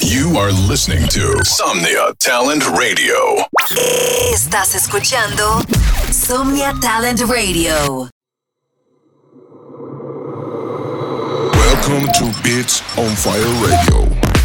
You are listening to Somnia Talent Radio. Estás escuchando Somnia Talent Radio. Welcome to Beats on Fire Radio,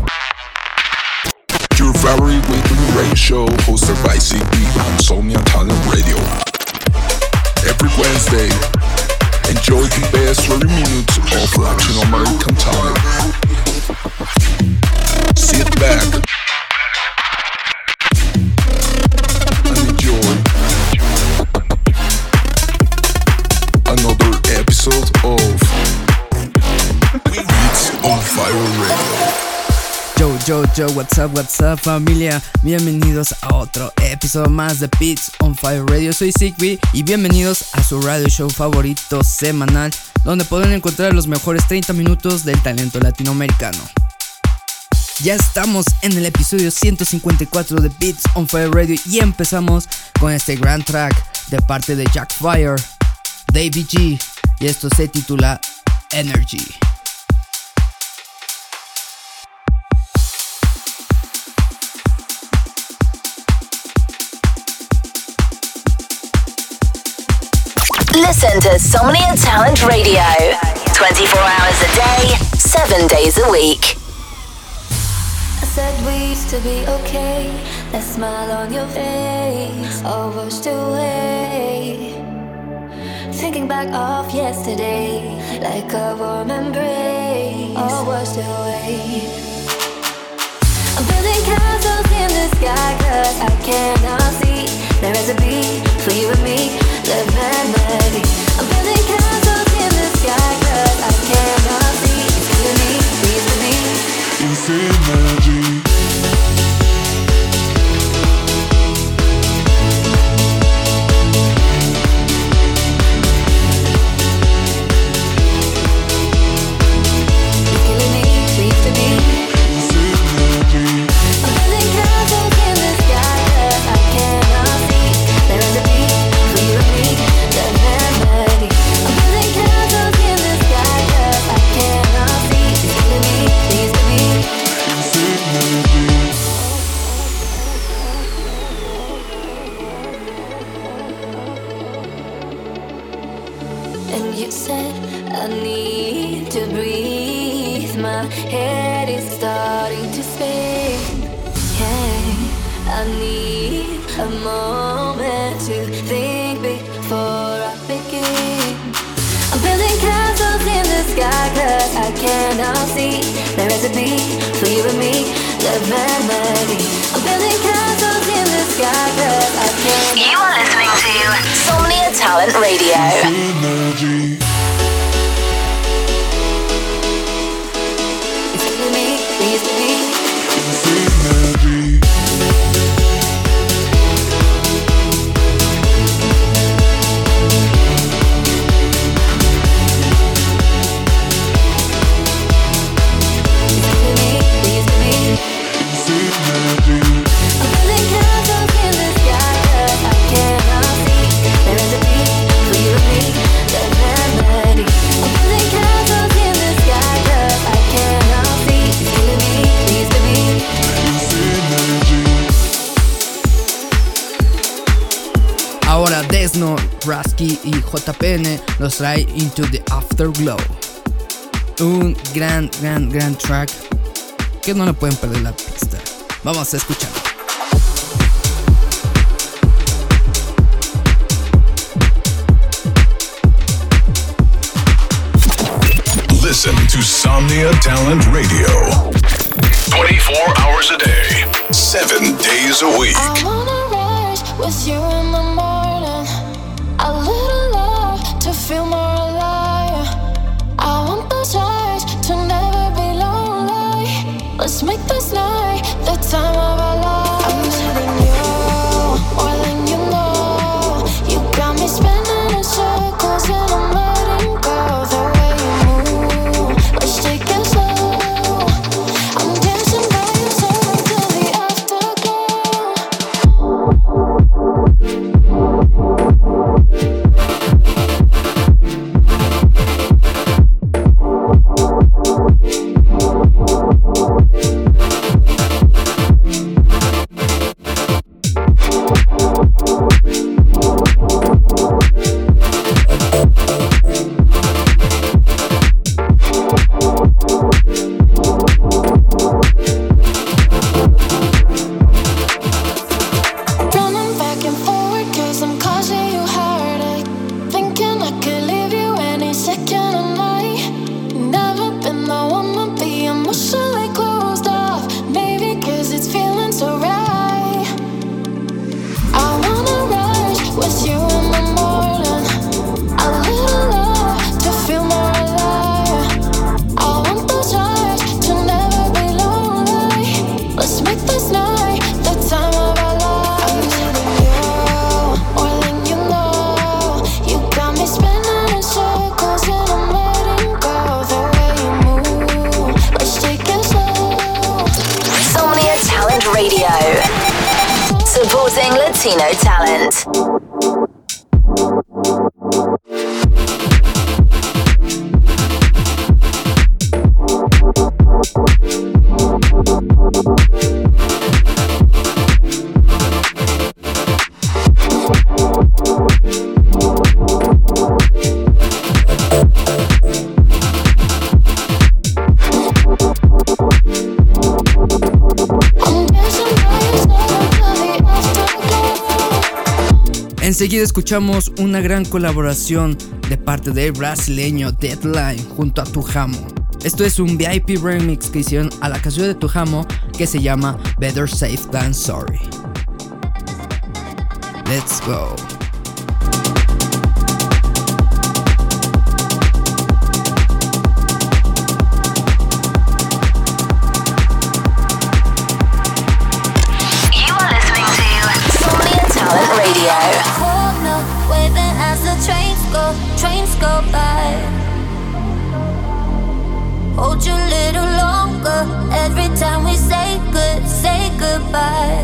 your favorite weekly radio show hosted by CB on Somnia Talent Radio. Every Wednesday, enjoy the best 30 minutes of Latin American talent. Sit back and enjoy another episode of Beats on Fire Radio. Yo, what's up familia, bienvenidos a otro episodio más de Beats on Fire Radio. Soy Zigby y bienvenidos a su radio show favorito semanal, donde podrán encontrar los mejores 30 minutos del talento latinoamericano. Ya estamos en el episodio 154 de Beats on Fire Radio y empezamos con este gran track de parte de Jack Fire, Davey G, y esto se titula Energy. Listen to Somnia Talent Radio 24 hours a day, 7 days a week. I said we used to be okay. That smile on your face all washed away. Thinking back of yesterday, like a warm embrace, all washed away. I'm building castles in the sky, 'cause I cannot see the recipe for you and me, the melody. I'm building castles in the sky, 'cause I cannot see. It's killing me, please with me. It's energy. You are listening to Somnia Talent Radio. Energy. It's killing me, please with me. It's energy. Ahora Desno, Rasky y JPN nos trae Into the Afterglow. Un gran track que no le pueden perder la pista. Vamos a escucharlo. Listen to Somnia Talent Radio 24 hours a day, 7 days a week. I wanna rise with you in the morning. A little love to feel more alive. I want those eyes to never be lonely. Let's make this night the time of our lives. I'm letting you, more than you know. You got me spinning in circles and I'm letting go. The way you move, let's take it slow. I'm dancing by your side till the afterglow. Radio. Supporting Latino talent. Enseguida escuchamos una gran colaboración de parte del brasileño Deadline junto a Tujamo. Esto es un VIP remix que hicieron a la canción de Tujamo que se llama Better Safe Than Sorry. Let's go. You are listening to Somnia Talent Radio. As the trains go by. Hold you a little longer every time we say goodbye.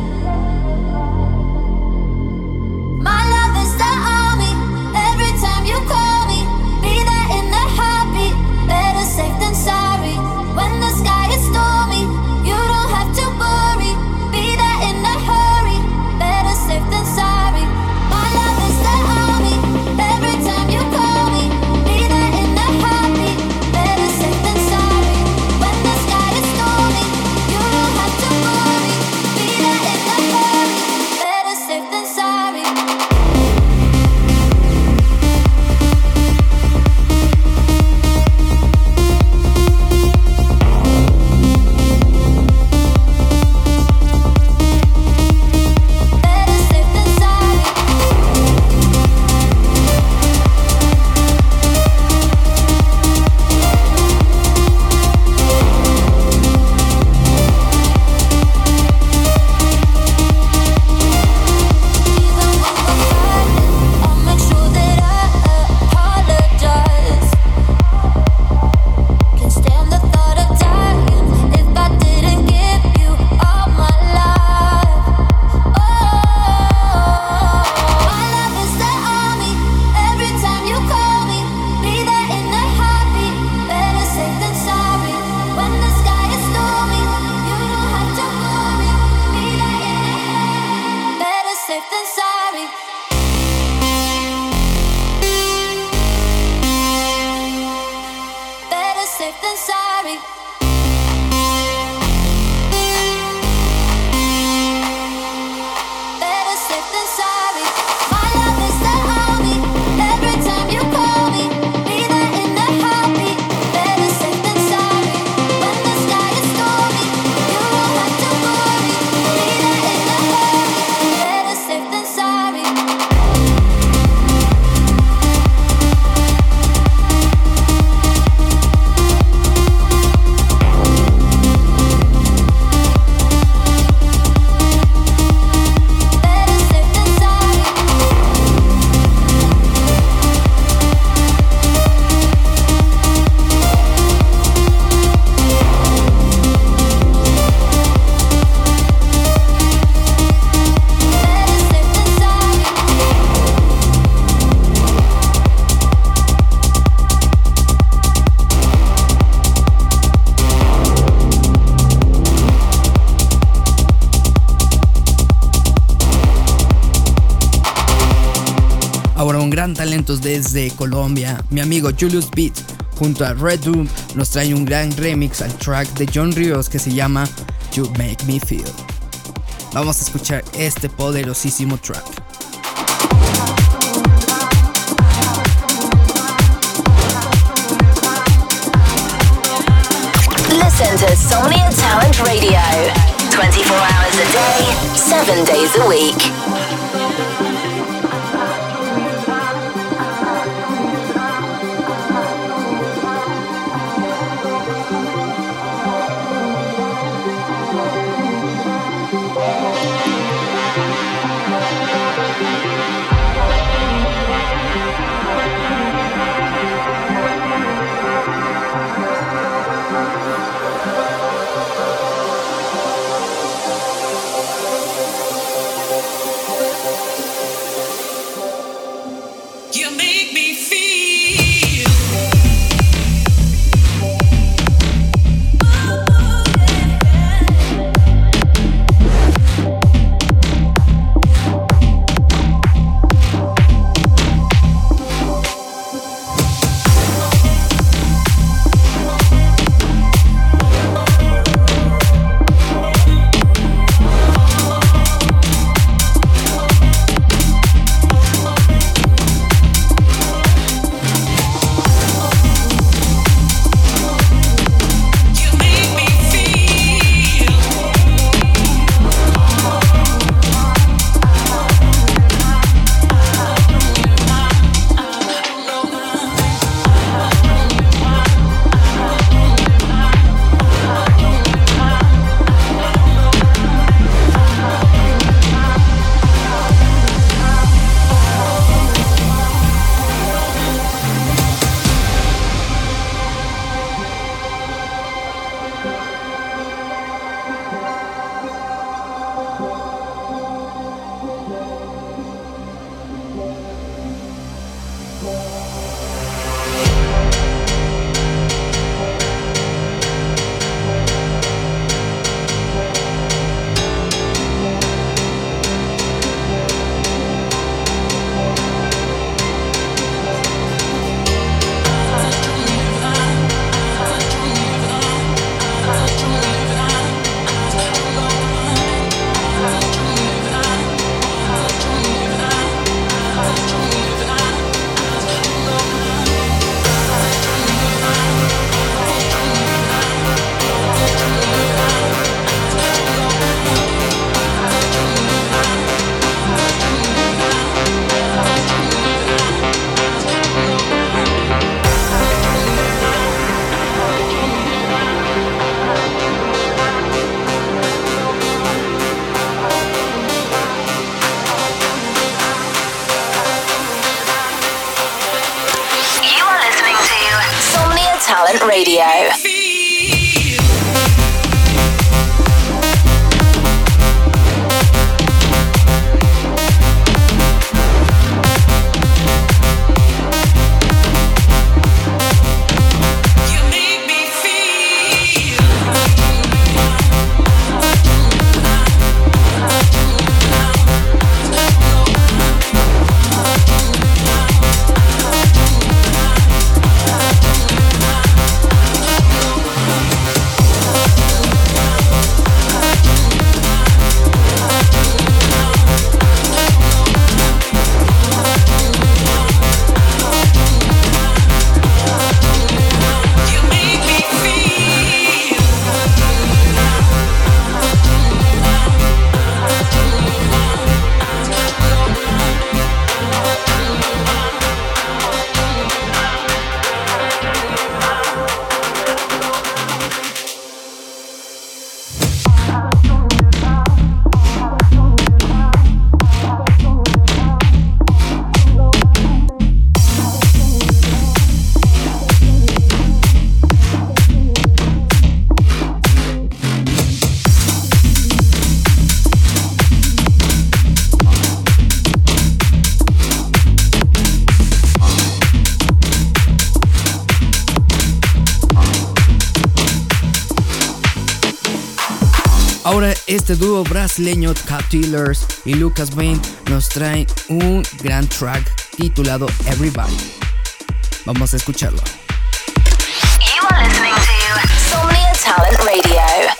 My love is the army. Every time you call me, be there in the heartbeat. Better safe than sorry. When the sky is stormy, you don't have to worry. Be there in a hurry. Better safe than sorry. My love is the army. Every time you call me, be there in a heartbeat. Better safe than sorry. When the sky is stormy, you don't have to worry. Be there in a hurry. Better safe than sorry. Talentos desde Colombia, mi amigo Julius Beat junto a Red Doom nos trae un gran remix al track de John Rios que se llama You Make Me Feel. Vamos a escuchar este poderosísimo track. Listen to Somnia Talent Radio 24 hours a day, 7 days a week. Ahora este dúo brasileño Cat-Dealers y Lucas Vane nos traen un gran track titulado Everybody. Vamos a escucharlo. You are listening to Somnia Talent Radio.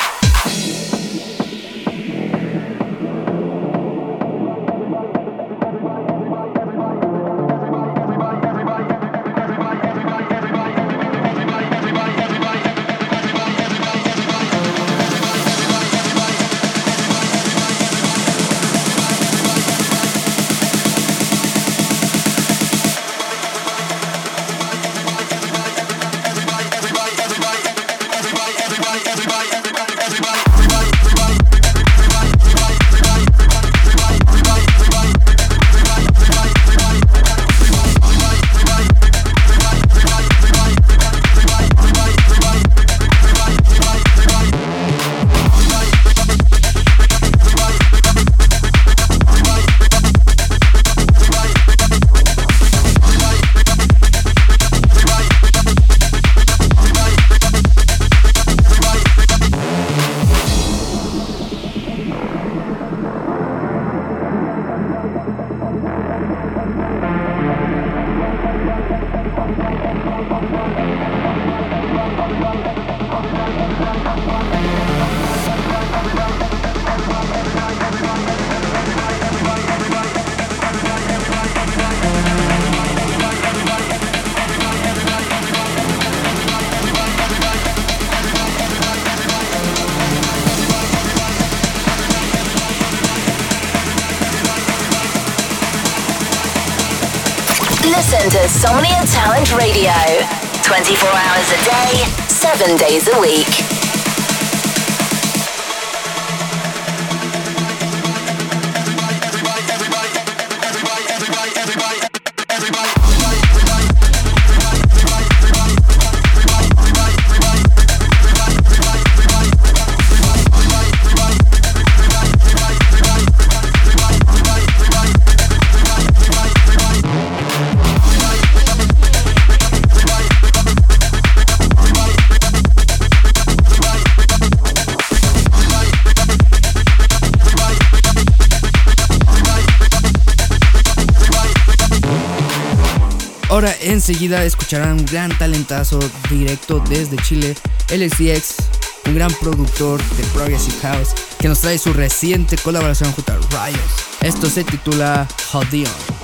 Listen to Somnia Talent Radio. 24 hours a day, 7 days a week. Ahora enseguida escucharán un gran talentazo directo desde Chile, LXDX, un gran productor de Progressive House que nos trae su reciente colaboración junto a Riot. Esto se titula Hold On.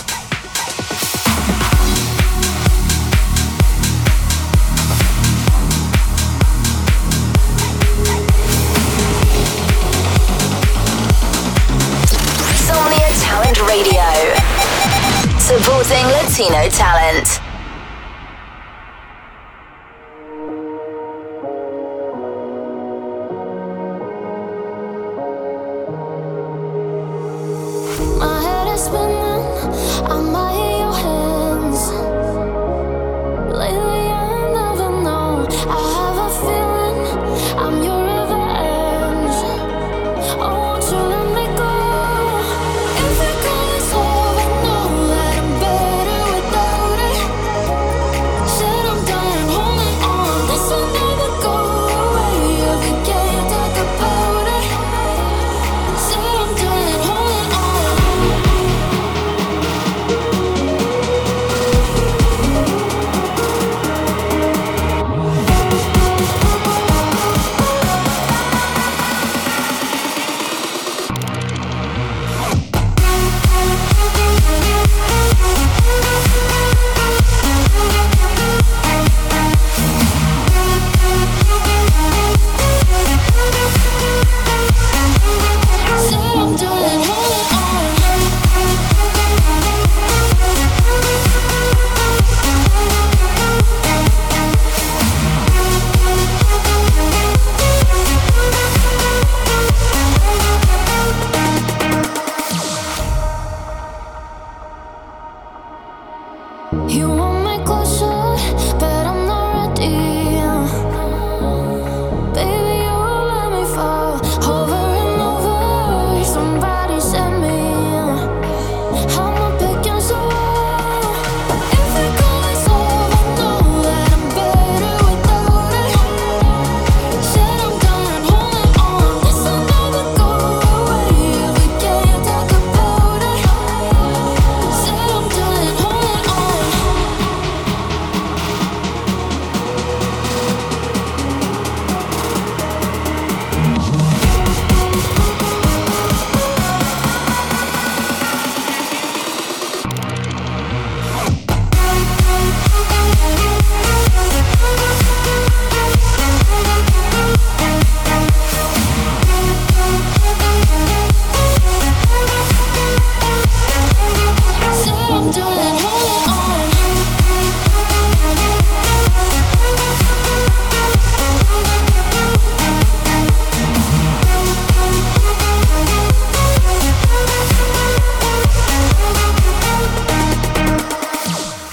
Radio, supporting Latino talent. My head is spinning, I might hear your hands. Lately I never know, I have a feeling I'm your revenge. I want you to let me go. If it goes over, know that I'm better without it.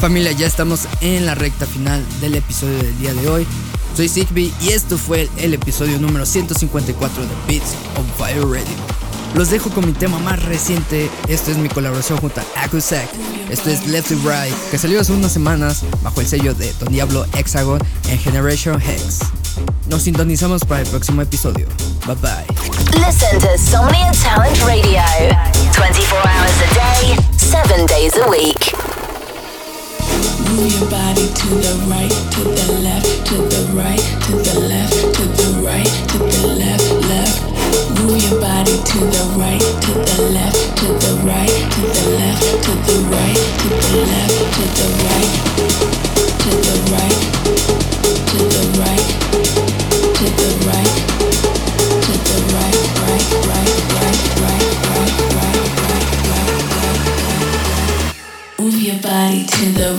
Familia, ya estamos en la recta final del episodio del día de hoy. Soy Zigbee y esto fue el episodio número 154 de Beats on Fire Radio. Los dejo con mi tema más reciente. Esto es mi colaboración junto a Akusak. Esto es Left to Right, que salió hace unas semanas bajo el sello de Don Diablo Hexagon en Generation Hex. Nos sintonizamos para el próximo episodio. Bye bye. Listen to Somnia Talent Radio 24 hours a day, 7 days a week. Move your body to the right, to the left, to the right, to the left, to the right, to the left, left. Move your body to the right, to the left, to the right, to the left, to the right, to the left, to the right, to the right, to the right, to the right, to the right, right, right, right, right, right, right, right, right, right. Move your body to the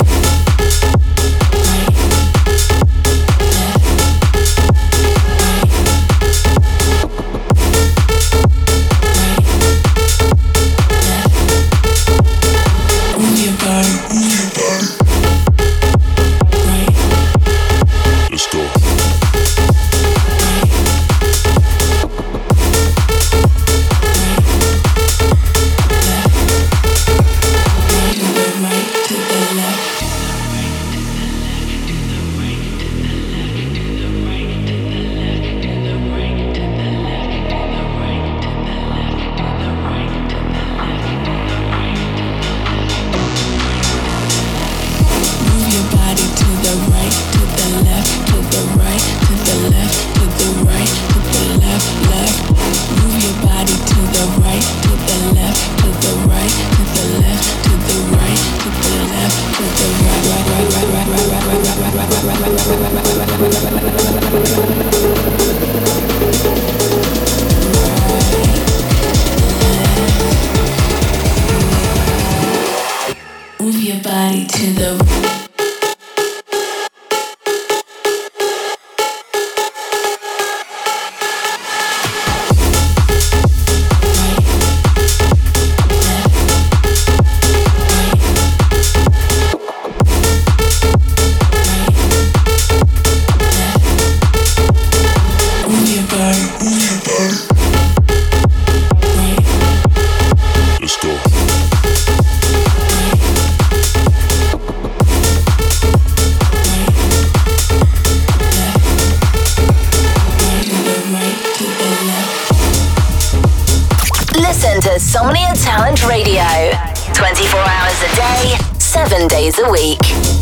Somnia Talent Radio 24 hours a day, 7 days a week.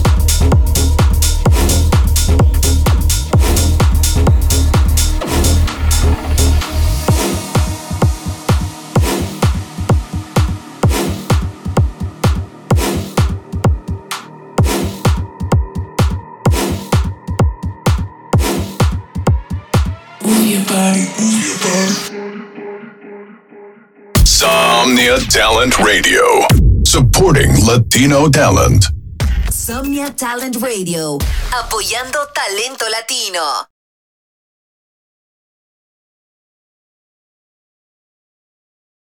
Somnia Talent Radio, supporting Latino talent. Somnia Talent Radio, apoyando talento latino.